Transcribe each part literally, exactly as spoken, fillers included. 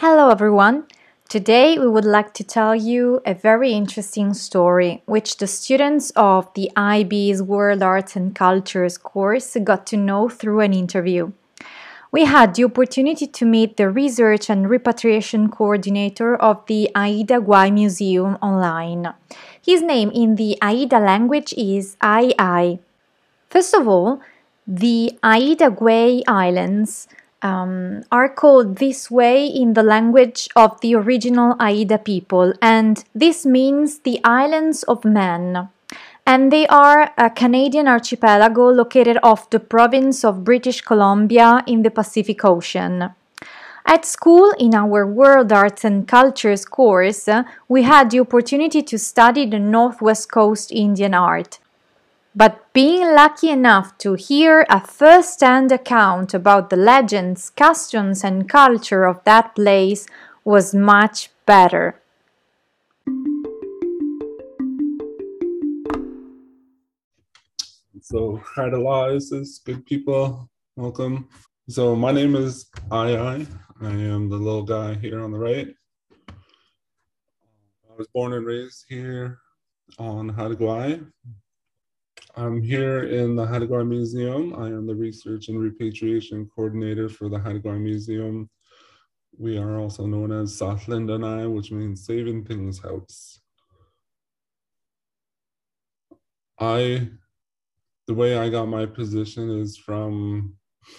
Hello everyone! Today we would like to tell you a very interesting story which the students of the I B's World Arts and Cultures course got to know through an interview. We had the opportunity to meet the research and repatriation coordinator of the Aida Gwai Museum online. His name in the Aida language is Ai Ai. First of all, the Aida Gwai Islands um, are called this way in the language of the original Aida people, and this means the Islands of Men. And they are a Canadian archipelago located off the province of British Columbia in the Pacific Ocean. At school, in our World Arts and Cultures course, we had the opportunity to study the Northwest Coast Indian art. But being lucky enough to hear a first-hand account about the legends, customs and culture of that place was much better. So, hi to Lies, good people, welcome. So, my name is Ai Ai. I am the little guy here on the right. I was born and raised here on Haida Gwaii. I'm here in the Haida Gwaii Museum. I am the Research and Repatriation Coordinator for the Haida Gwaii Museum. We are also known as Sathlindanai, which means Saving Things House. I, the way I got my position is from,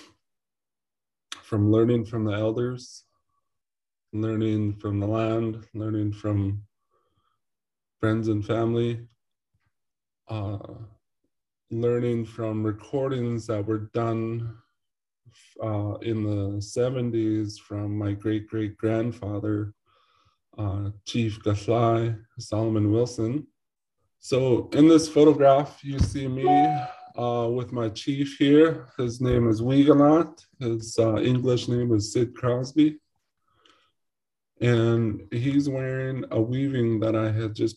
from learning from the elders, learning from the land, learning from friends and family, uh, learning from recordings that were done uh, in the seventies from my great-great-grandfather, uh, Chief Gatlai Solomon Wilson. So in this photograph, you see me uh, with my chief here. His name is Weeganot. His uh, English name is Sid Crosby. And he's wearing a weaving that I had just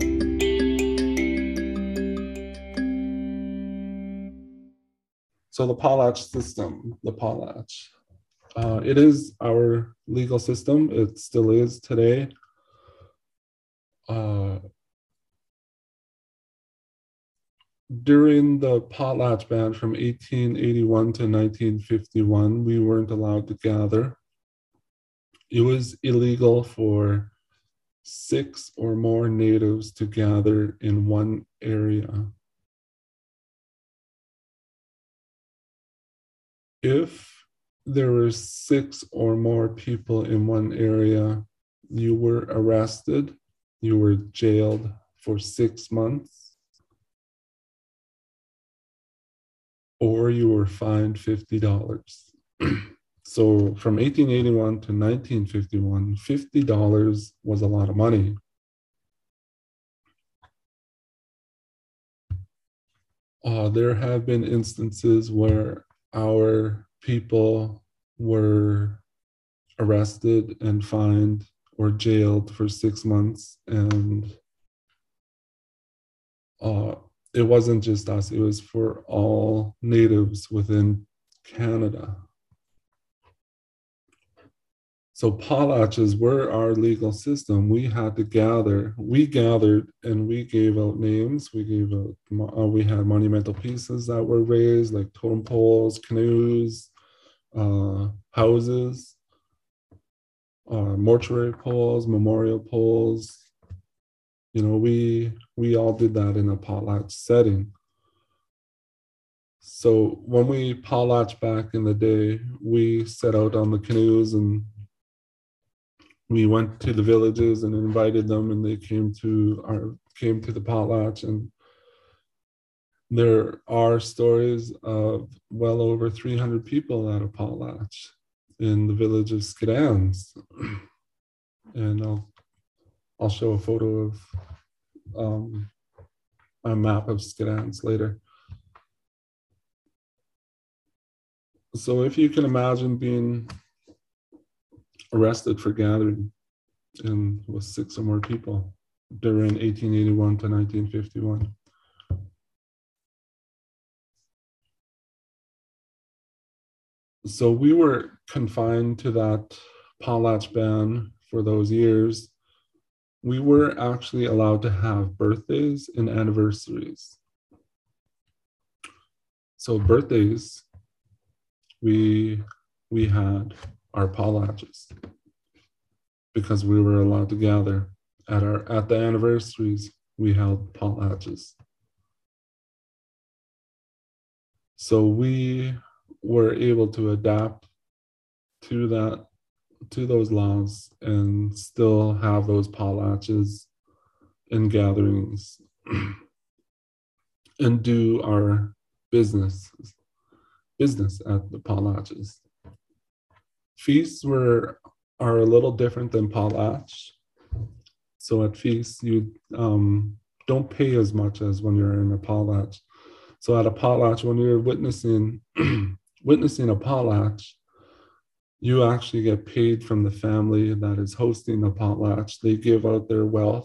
So the Palach system, the Palach, uh, it is our legal system. It still is today. Uh, during the Potlatch ban from eighteen eighty-one to nineteen fifty-one, we weren't allowed to gather. It was illegal for six or more natives to gather in one area. If there were six or more people in one area, you were arrested, you were jailed for six months, or you were fined fifty dollars. So from eighteen eighty-one to nineteen fifty-one, fifty dollars was a lot of money. Uh, there have been instances where our people were arrested and fined or jailed for six months. And uh, it wasn't just us, it was for all natives within Canada. So Palachs were our legal system. We had to gather, we gathered and we gave out names. We gave out, uh, we had monumental pieces that were raised, like totem poles, canoes, uh, houses, uh, mortuary poles, memorial poles. You know, we, we all did that in a potlatch setting. So when we potlatch back in the day, we set out on the canoes and we went to the villages and invited them, and they came to our came to the potlatch. And there are stories of well over three hundred people at a potlatch in the village of Skidans. And I'll I'll show a photo of um, a map of Skidans later. So if you can imagine being arrested for gathering and with six or more people during eighteen eighty-one to nineteen fifty-one. So we were confined to that potlatch ban for those years, we were actually allowed to have birthdays and anniversaries. So birthdays, we we had our potlatches because we were allowed to gather. At our at the anniversaries, we held potlatches. So we were able to adapt to that, to those laws, and still have those potlatches and gatherings and do our business business at the potlatches. Feasts were are a little different than potlatch. So at feasts, you um, don't pay as much as when you're in a potlatch. So at a potlatch, when you're witnessing witnessing a potlatch, you actually get paid from the family that is hosting the potlatch. They give out their wealth.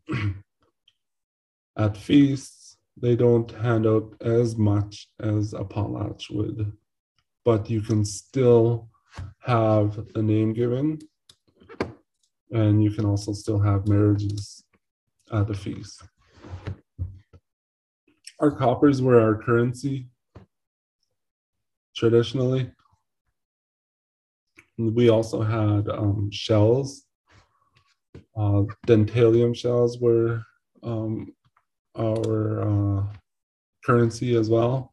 At feasts, they don't hand out as much as a potlatch would, but you can still have a name given, and you can also still have marriages at the feast. Our coppers were our currency traditionally. We also had um, shells. Uh, dentalium shells were um, our uh, currency as well.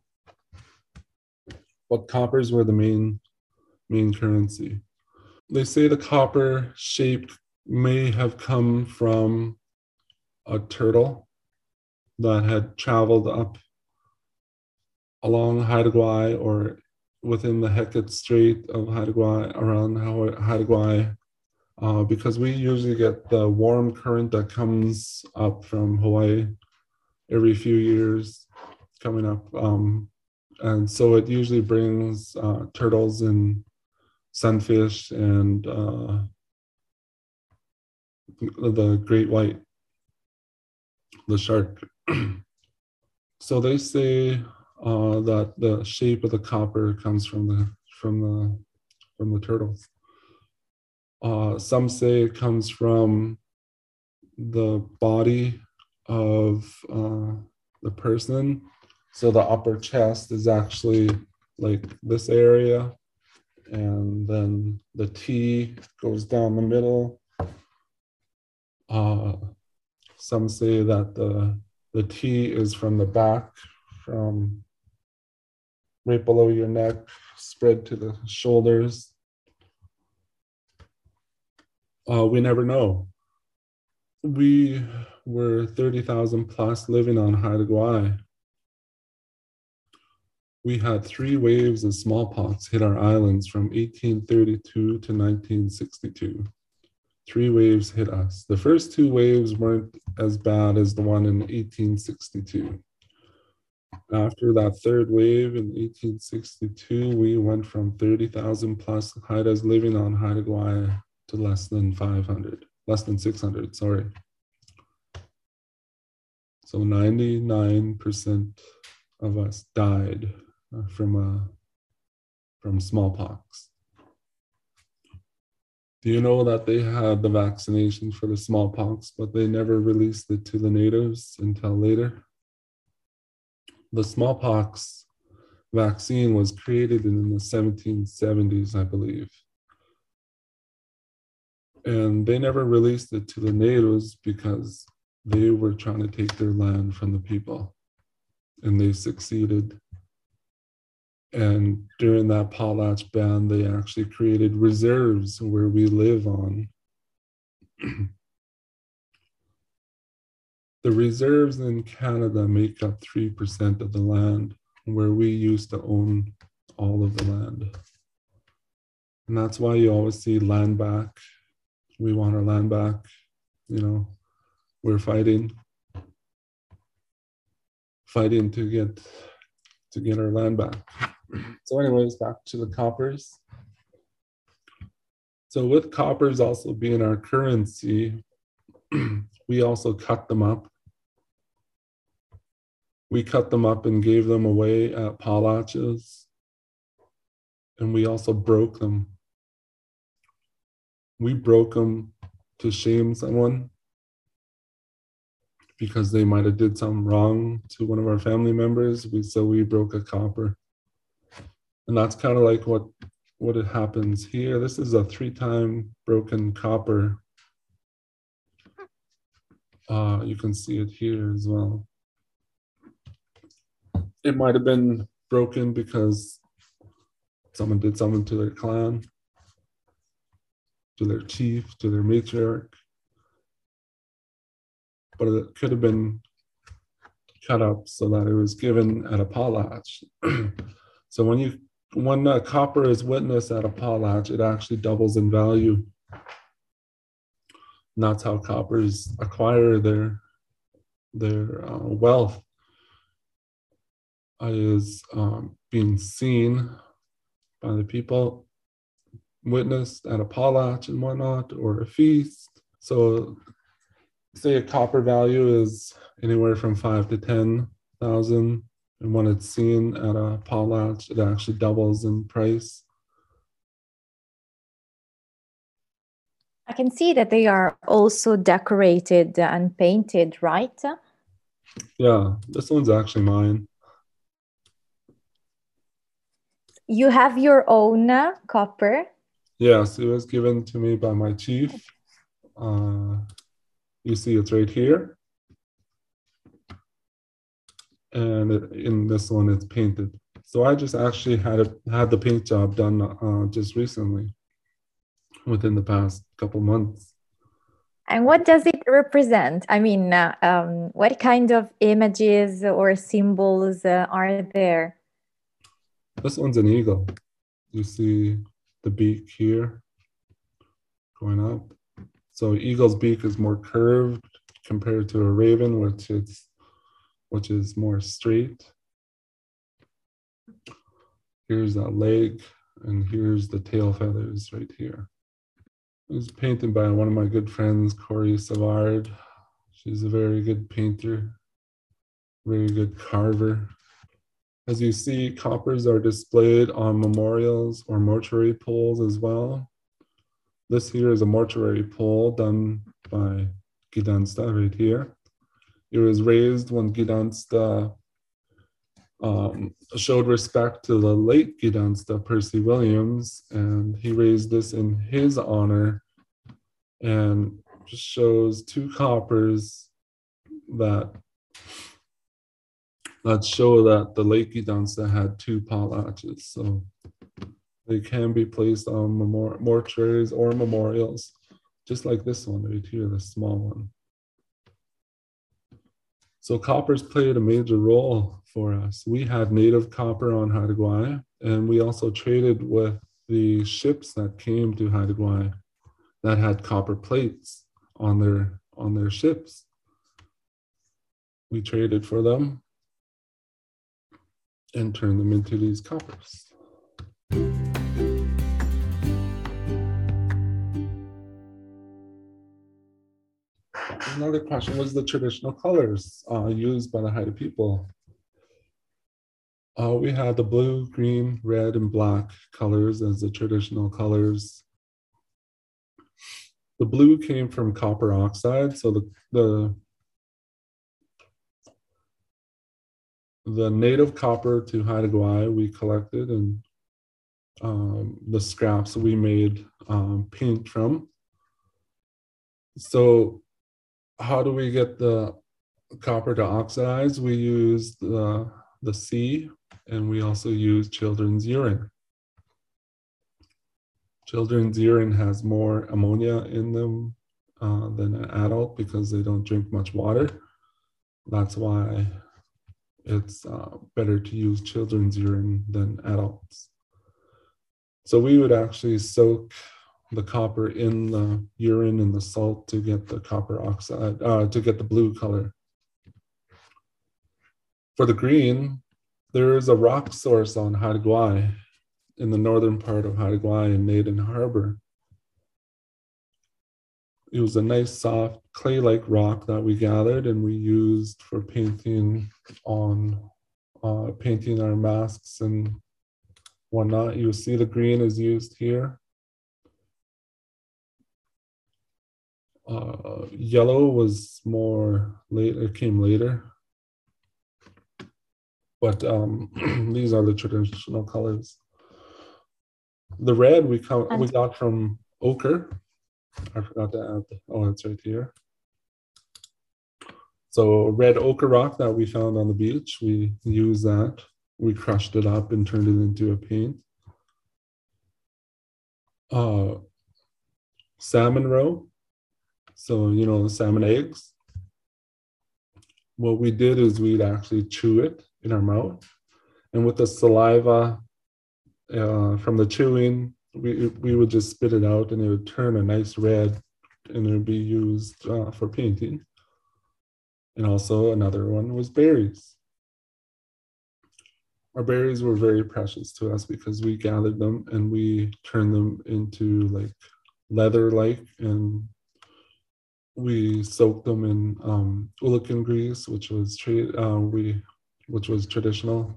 But coppers were the main main currency. They say the copper shape may have come from a turtle that had traveled up along Haida Gwaii or within the Hecate Strait of Haida Gwaii, around Haida Gwaii, uh, because we usually get the warm current that comes up from Hawaii every few years coming up. Um, and so it usually brings uh, turtles and sunfish and uh, the great white, the shark. So they say uh, that the shape of the copper comes from the from the from the turtles. Uh, some say it comes from the body of uh, the person. So the upper chest is actually like this area, and then the T goes down the middle. Uh, some say that the the T is from the back, from right below your neck, spread to the shoulders. Uh, we never know. We were thirty thousand plus living on Haida Gwaii. We had three waves of smallpox hit our islands from eighteen thirty-two to nineteen sixty-two. Three waves hit us. The first two waves weren't as bad as the one in eighteen sixty-two. After that third wave in eighteen sixty-two, we went from thirty thousand plus Haidas living on Haida Gwaii to less than five hundred, less than six hundred, sorry. So ninety-nine percent of us died uh, from, uh, from smallpox. Do you know that they had the vaccination for the smallpox, but they never released it to the natives until later? The smallpox vaccine was created in the seventeen seventies, I believe. And they never released it to the natives because they were trying to take their land from the people. And they succeeded. And during that potlatch ban, they actually created reserves where we live on. The reserves in Canada make up three percent of the land, where we used to own all of the land. And that's why you always see land back. We want our land back. You know, we're fighting, fighting to get to get our land back. So anyways, back to the coppers. So with coppers also being our currency, we also cut them up. We cut them up and gave them away at potlatches. And we also broke them. we broke them to shame someone because they might have did something wrong to one of our family members. We so we broke a copper. And that's kind of like what, what it happens here. This is a three-time broken copper. Uh, you can see it here as well. It might have been broken because someone did something to their clan, to their chief, to their matriarch. But it could have been cut up so that it was given at a potlatch. So when you when a copper is witnessed at a potlatch, it actually doubles in value. And that's how coppers acquire their their uh, wealth, uh, is um, being seen by the people, witnessed at a potlatch and whatnot, or a feast. So say a copper value is anywhere from five to ten thousand, and when it's seen at a potlatch, it actually doubles in price. I can see that they are also decorated and painted, right? Yeah, this one's actually mine. You have your own uh, copper? Yes, it was given to me by my chief. Uh, you see it's right here. And it, in this one, it's painted. So I just actually had it, had the paint job done uh, just recently, within the past couple months. And what does it represent? I mean, uh, um, what kind of images or symbols uh, are there? This one's an eagle. You see the beak here going up. So eagle's beak is more curved compared to a raven, which is which is more straight. Here's that leg, and here's the tail feathers right here. It was painted by one of my good friends, Corey Savard. She's a very good painter, very good carver. As you see, coppers are displayed on memorials or mortuary poles as well. This here is a mortuary pole done by Gdansta right here. It was raised when Gdansta um, showed respect to the late Gdansta, Percy Williams, and he raised this in his honor, and just shows two coppers that that show that the late Gdansta had two potlatches. So they can be placed on memor mortuaries or memorials, just like this one right here, the small one. So coppers played a major role for us. We had native copper on Haida Gwaii, and we also traded with the ships that came to Haida Gwaii that had copper plates on their, on their ships. We traded for them and turned them into these coppers. Another question was the traditional colors uh, used by the Haida people. Uh, we had the blue, green, red, and black colors as the traditional colors. The blue came from copper oxide, so the, the, the native copper to Haida Gwaii we collected, and um, the scraps we made um, paint from. So how do we get the copper to oxidize? We use the, the sea, and we also use children's urine. Children's urine has more ammonia in them uh, than an adult because they don't drink much water. That's why it's uh, better to use children's urine than adults. So we would actually soak the copper in the urine and the salt to get the copper oxide, uh, to get the blue color. For the green, there is a rock source on Haida Gwaii in the northern part of Haida Gwaii in Naden Harbor. It was a nice soft clay-like rock that we gathered and we used for painting on uh, painting our masks and whatnot. You see the green is used here. Uh, yellow was more late, it came later. But um, these are the traditional colors. The red we, come, we got from ochre. I forgot to add, oh, it's right here. So red ochre rock that we found on the beach, we used that. We crushed it up and turned it into a paint. Uh, salmon roe, so you know, salmon eggs. What we did is we'd actually chew it in our mouth, and with the saliva uh, from the chewing, we, we would just spit it out and it would turn a nice red and it would be used uh, for painting. And also another one was berries. Our berries were very precious to us because we gathered them and we turned them into like leather-like, and we soaked them in um, ulican grease, which was tra- uh, we, which was traditional.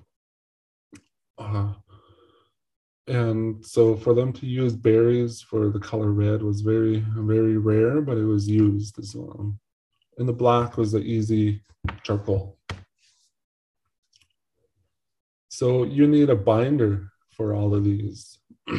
Uh, and so for them to use berries for the color red was very, very rare, but it was used as well. And the black was the easy charcoal. So you need a binder for all of these.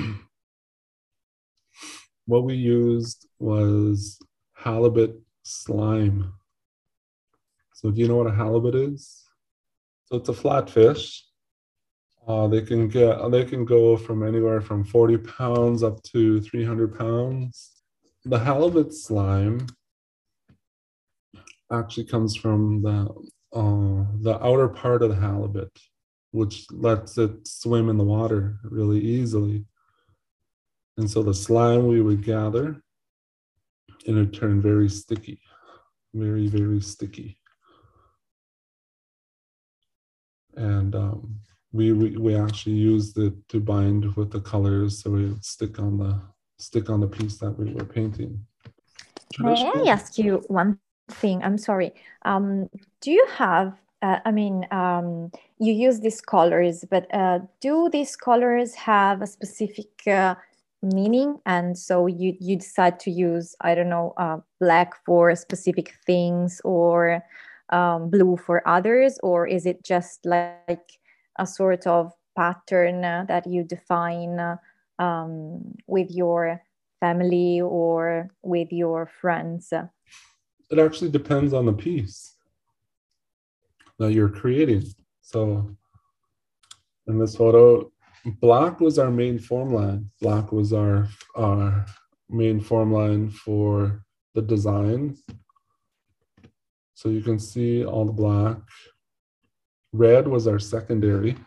What we used was halibut slime. So do you know what a halibut is? So it's a flatfish. Uh, they can get they can go from anywhere from forty pounds up to three hundred pounds. The halibut slime actually comes from the uh, the outer part of the halibut, which lets it swim in the water really easily. And so the slime we would gather, and it turned very sticky, very, very sticky. And um, we, we we actually used it to bind with the colors, so it would stick on the stick on the piece that we were painting. May I ask you one thing? I'm sorry. Um, do you have? Uh, I mean, um, you use these colors, but uh, do these colors have a specific uh, meaning? And so you you decide to use, I don't know, uh, black for specific things or um, blue for others, or is it just like a sort of pattern uh, that you define uh, um, with your family or with your friends? It actually depends on the piece that you're creating. So in this photo, black was our main form line. Black was our, our main form line for the design. So you can see all the black. Red was our secondary.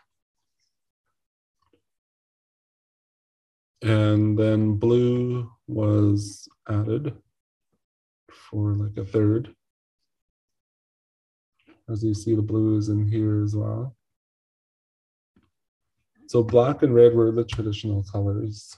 And then blue was added for like a third. As you see, the blue is in here as well. So black and red were the traditional colors.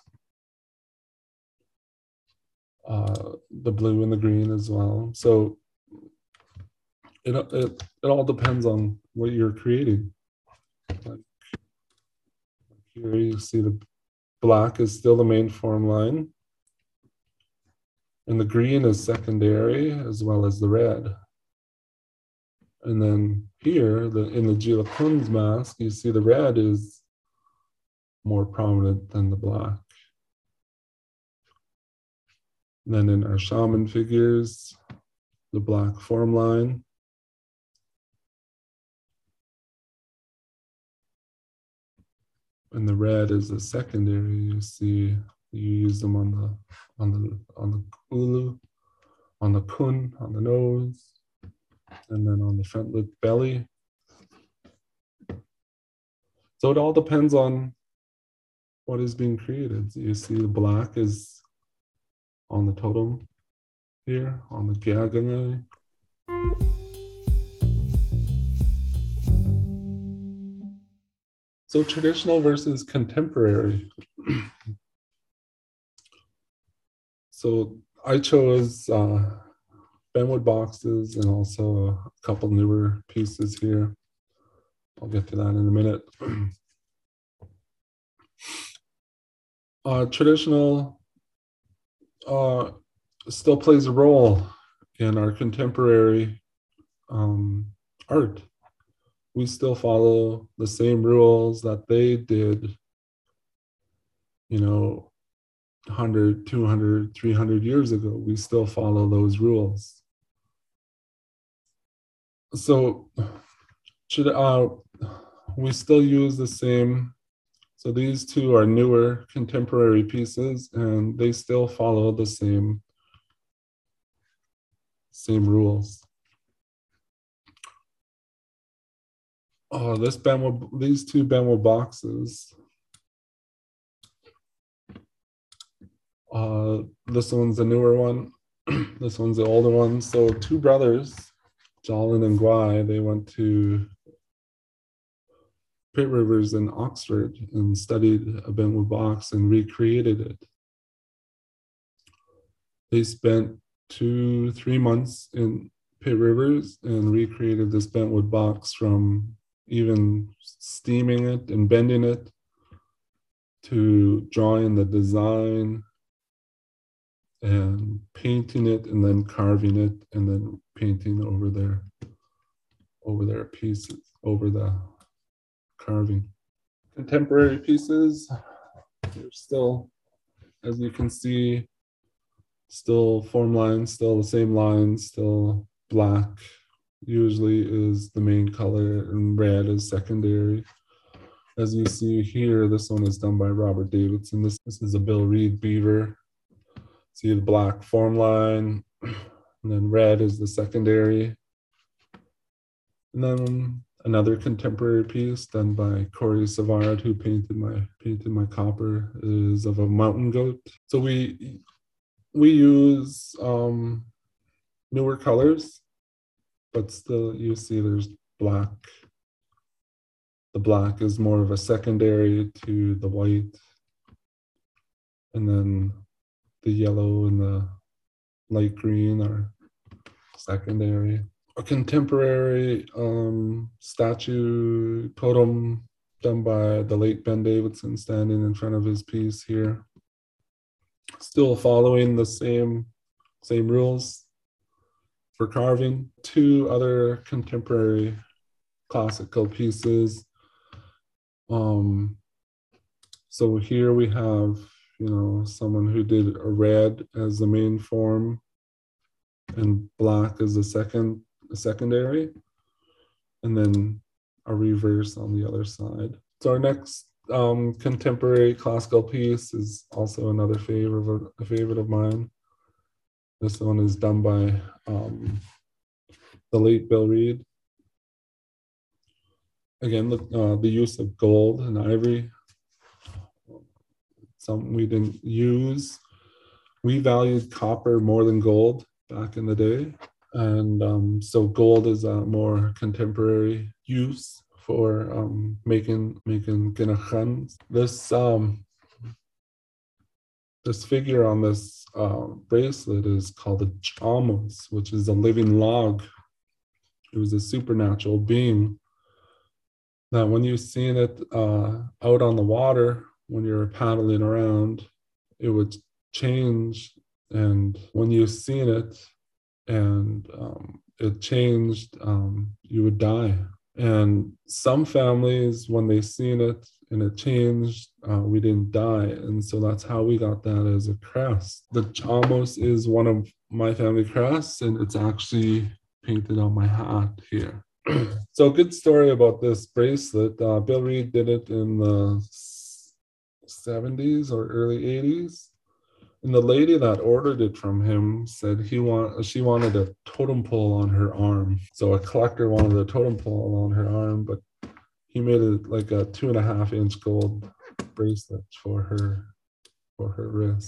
Uh, the blue and the green as well. So it, it, it all depends on what you're creating. Like here you see the black is still the main form line. And the green is secondary as well as the red. And then here, the, in the Gila Kun's mask, you see the red is more prominent than the black. And then in our shaman figures, the black form line. And the red is the secondary. You see, you use them on the on the on the ulu, on the kun, on the nose, and then on the front lip belly. So it all depends on what is being created. So you see the black is on the totem here, on the Gyagane. So traditional versus contemporary. So I chose uh, Benwood boxes and also a couple newer pieces here. I'll get to that in a minute. uh, traditional, uh, still plays a role in our contemporary um, art. We still follow the same rules that they did, you know, one hundred, two hundred, three hundred years ago. We still follow those rules. So should uh, we still use the same? So these two are newer contemporary pieces, and they still follow the same same rules. Oh, this bamboo, these two bamboo boxes. Uh, this one's a newer one. This one's the older one. So two brothers, Jolin and Guy, they went to Pitt Rivers in Oxford and studied a bamboo box and recreated it. They spent two, three months in Pitt Rivers and recreated this bentwood box, from even steaming it and bending it to drawing the design and painting it and then carving it and then painting over their over their pieces, over the carving. Contemporary pieces, they're still, as you can see, still form lines, still the same lines, still black usually is the main color and red is secondary. As you see here, this one is done by Robert Davidson. This, this is a Bill Reed beaver. See the black form line, and then red is the secondary. And then another contemporary piece done by Corey Savard, who painted my painted my copper, is of a mountain goat. So we we use um, newer colors, but still you see there's black. The black is more of a secondary to the white, and then the yellow and the light green are secondary. A contemporary um, statue totem done by the late Ben Davidson, standing in front of his piece here. Still following the same, same rules for carving. Two other contemporary classical pieces. Um, so here we have, you know, someone who did a red as the main form and black as the second, a secondary, and then a reverse on the other side. So our next um, contemporary classical piece is also another favorite, a favorite of mine. This one is done by um, the late Bill Reed. Again, the, uh, the use of gold and ivory, something we didn't use. We valued copper more than gold back in the day. And um, so gold is a more contemporary use for um, making making kinachans. This um, this figure on this uh, bracelet is called a chamos, which is a living log. It was a supernatural being that when you seen it uh, out on the water, when you're paddling around, it would change. And when you seen it and um, it changed, um, you would die. And some families, when they seen it and it changed, uh, we didn't die. And so that's how we got that as a crest. The chamos is one of my family crests, and it's actually painted on my hat here. So a good story about this bracelet. Uh, Bill Reed did it in the seventies or early eighties. And the lady that ordered it from him said he want she wanted a totem pole on her arm. So a collector wanted a totem pole on her arm, but he made it like a two and a half inch gold bracelet for her for her wrist.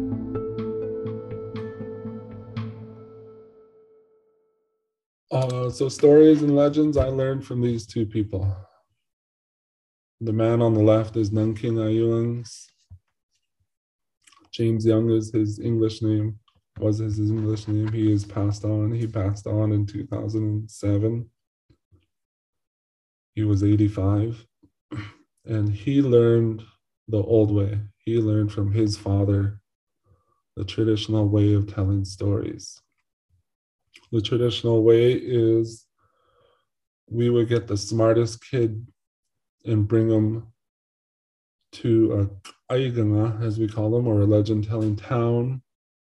Uh, so stories and legends I learned from these two people. The man on the left is Nanking Ayuangs. James Young is his English name, was his English name. He is passed on. He passed on in two thousand seven. He was eighty-five. And he learned the old way. He learned from his father the traditional way of telling stories. The traditional way is we would get the smartest kid and bring them to a aiganga, as we call them, or a legend-telling town.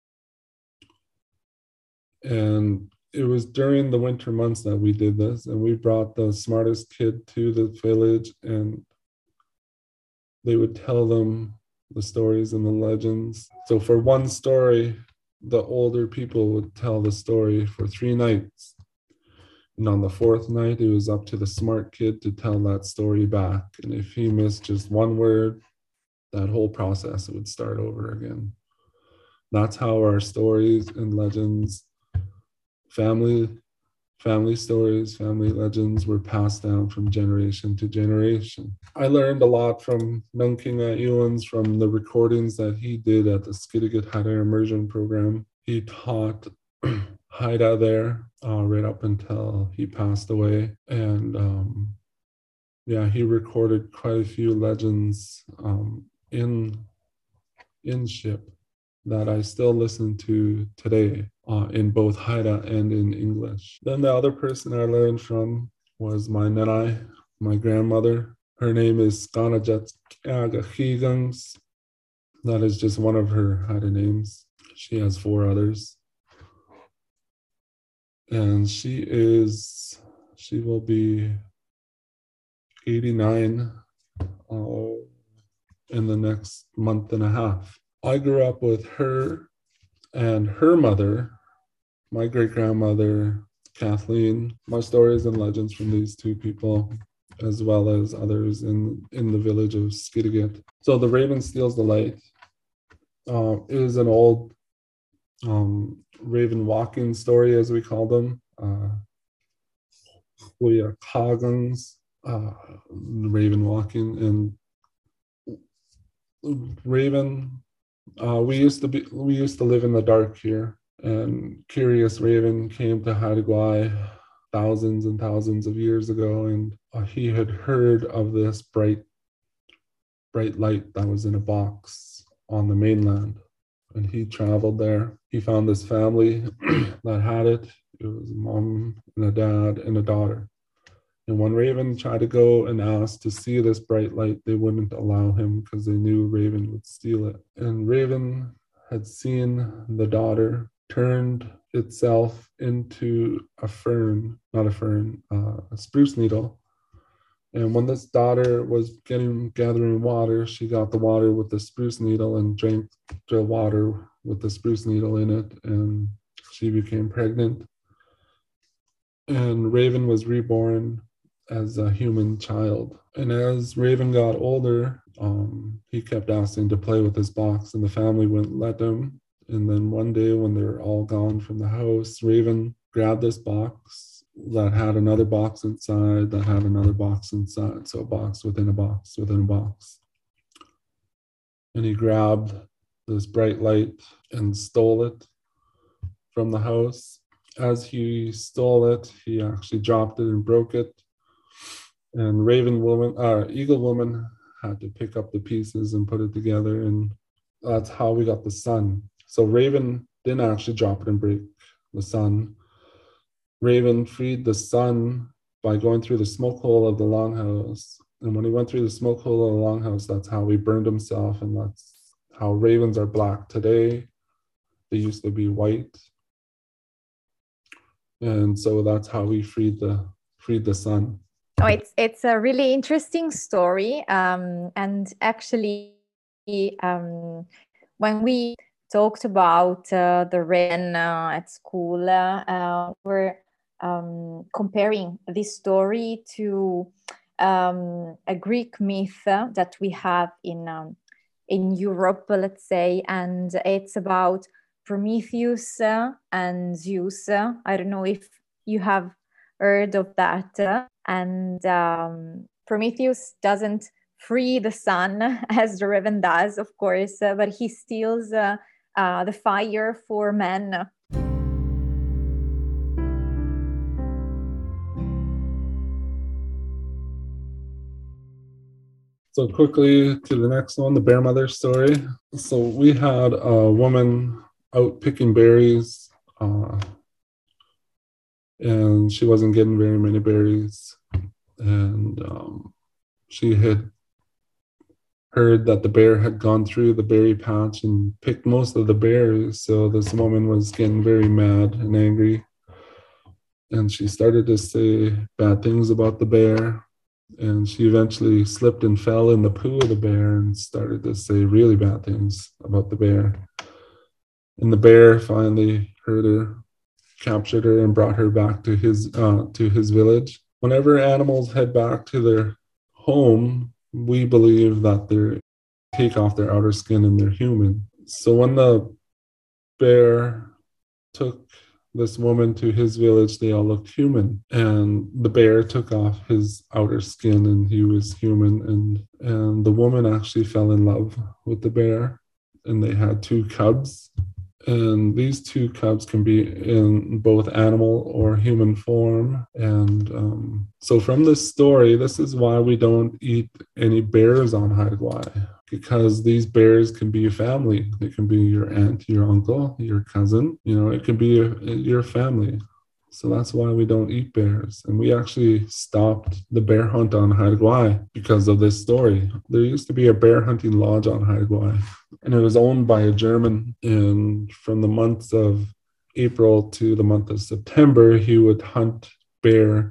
And it was during the winter months that we did this, and we brought the smartest kid to the village, and they would tell them the stories and the legends. So for one story, the older people would tell the story for three nights. And on the fourth night, it was up to the smart kid to tell that story back. And if he missed just one word, that whole process would start over again. That's how our stories and legends, family family stories, family legends were passed down from generation to generation. I learned a lot from Nungkinga Iwans, from the recordings that he did at the Skidegate Haida Immersion Program. He taught Haida there uh, right up until he passed away. And um, yeah, he recorded quite a few legends um, in, in Ship that I still listen to today uh, in both Haida and in English. Then the other person I learned from was my Nenai, my grandmother. Her name is Skanajat Higangs. That is just one of her Haida names. She has four others. And she is, she will be eighty-nine uh, in the next month and a half. I grew up with her and her mother, my great-grandmother, Kathleen. My stories and legends from these two people, as well as others in, in the village of Skidegate. So the Raven Steals the Light uh, is an old um, raven walking story, as we call them. Uh, Kagans, uh, raven walking, and raven. Uh, we used to be, we used to live in the dark here, and Curious Raven came to Haida Gwaii thousands and thousands of years ago, and uh, he had heard of this bright, bright light that was in a box on the mainland, and he traveled there. He found this family that had it. It was a mom and a dad and a daughter. And when Raven tried to go and ask to see this bright light, they wouldn't allow him because they knew Raven would steal it. And Raven had seen the daughter turned itself into a fern, not a fern, uh, a spruce needle. And when this daughter was getting gathering water, she got the water with the spruce needle and drank the water with the spruce needle in it, and she became pregnant. And Raven was reborn as a human child. And as Raven got older, um, he kept asking to play with his box, and the family wouldn't let him. And then one day when they were all gone from the house, Raven grabbed this box that had another box inside, that had another box inside. So a box within a box within a box. And he grabbed this bright light and stole it from the house. As he stole it, he actually dropped it and broke it. And Raven Woman, uh, Eagle Woman had to pick up the pieces and put it together. And that's how we got the sun. So Raven didn't actually drop it and break the sun. Raven freed the sun by going through the smoke hole of the longhouse. And when he went through the smoke hole of the longhouse, that's how he burned himself. And that's how ravens are black today. They used to be white. And so that's how we freed the freed the sun. Oh, it's it's a really interesting story. Um, and actually, um, when we talked about uh, the raven uh, at school, uh, uh, we're um, comparing this story to um, a Greek myth uh, that we have in um, in Europe, let's say, and it's about Prometheus uh, and Zeus. Uh, I don't know if you have heard of that. Uh, and um, Prometheus doesn't free the sun as the raven does, of course, uh, but he steals uh, uh, the fire for men. So quickly to the next one, the bear mother story. So we had a woman out picking berries, uh, and she wasn't getting very many berries. And um, she had heard that the bear had gone through the berry patch and picked most of the berries. So this woman was getting very mad and angry. And she started to say bad things about the bear. And she eventually slipped and fell in the poo of the bear and started to say really bad things about the bear. And the bear finally heard her, captured her, and brought her back to his uh, to his village. Whenever animals head back to their home, we believe that they take off their outer skin and they're human. So when the bear took this woman to his village, they all looked human, and the bear took off his outer skin and he was human, and and the woman actually fell in love with the bear, and they had two cubs, and these two cubs can be in both animal or human form. And um, so from this story, this is why we don't eat any bears on Haida Gwaii, because these bears can be a family. They can be your aunt, your uncle, your cousin. You know, it can be your, your family. So that's why we don't eat bears. And we actually stopped the bear hunt on Haida Gwaii because of this story. There used to be a bear hunting lodge on Haida Gwaii, and it was owned by a German. And from the months of April to the month of September, he would hunt bear.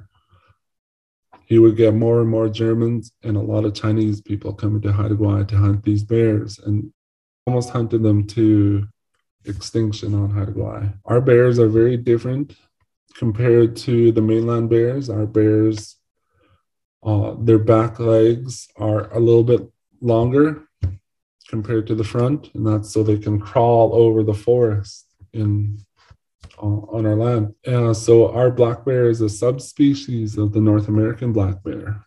He would get more and more Germans and a lot of Chinese people coming to Haida Gwaii to hunt these bears, and almost hunted them to extinction on Haida Gwaii. Our bears are very different compared to the mainland bears. Our bears, uh, their back legs are a little bit longer compared to the front, and that's so they can crawl over the forest in uh, on our land. Uh, so our black bear is a subspecies of the North American black bear.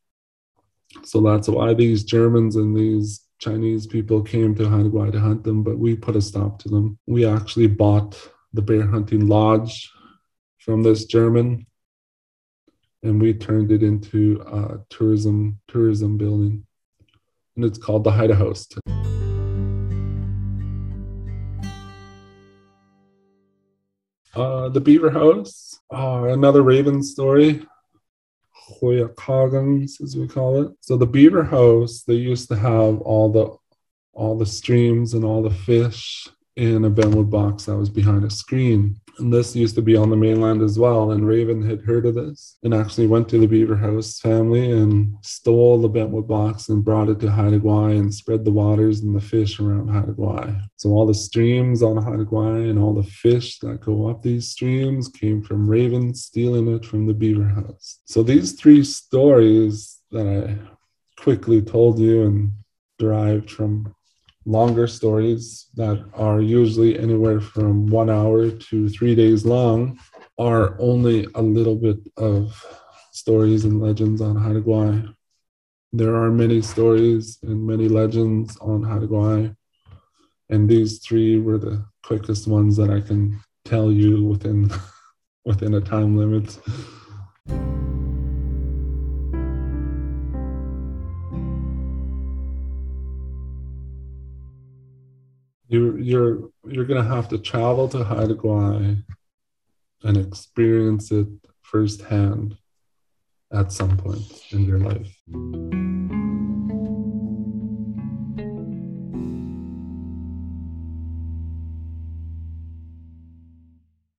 So that's why these Germans and these Chinese people came to Haida Gwaii to hunt them, but we put a stop to them. We actually bought the bear hunting lodge from this German, and we turned it into a tourism tourism building, and it's called the Haida House. Uh, the Beaver House, uh, another Raven story, Hoyakagans as we call it. So the Beaver House, they used to have all the all the streams and all the fish in a Benwood box that was behind a screen. And this used to be on the mainland as well. And Raven had heard of this and actually went to the Beaver House family and stole the Bentwood box and brought it to Haida Gwaii and spread the waters and the fish around Haida Gwaii. So all the streams on Haida Gwaii and all the fish that go up these streams came from Raven stealing it from the Beaver House. So these three stories that I quickly told you and derived from longer stories that are usually anywhere from one hour to three days long are only a little bit of stories and legends on Haida Gwaii. There are many stories and many legends on Haida Gwaii, and these three were the quickest ones that I can tell you within within a time limit. You're, you're, you're going to have to travel to Haida Gwaii and experience it firsthand at some point in your life.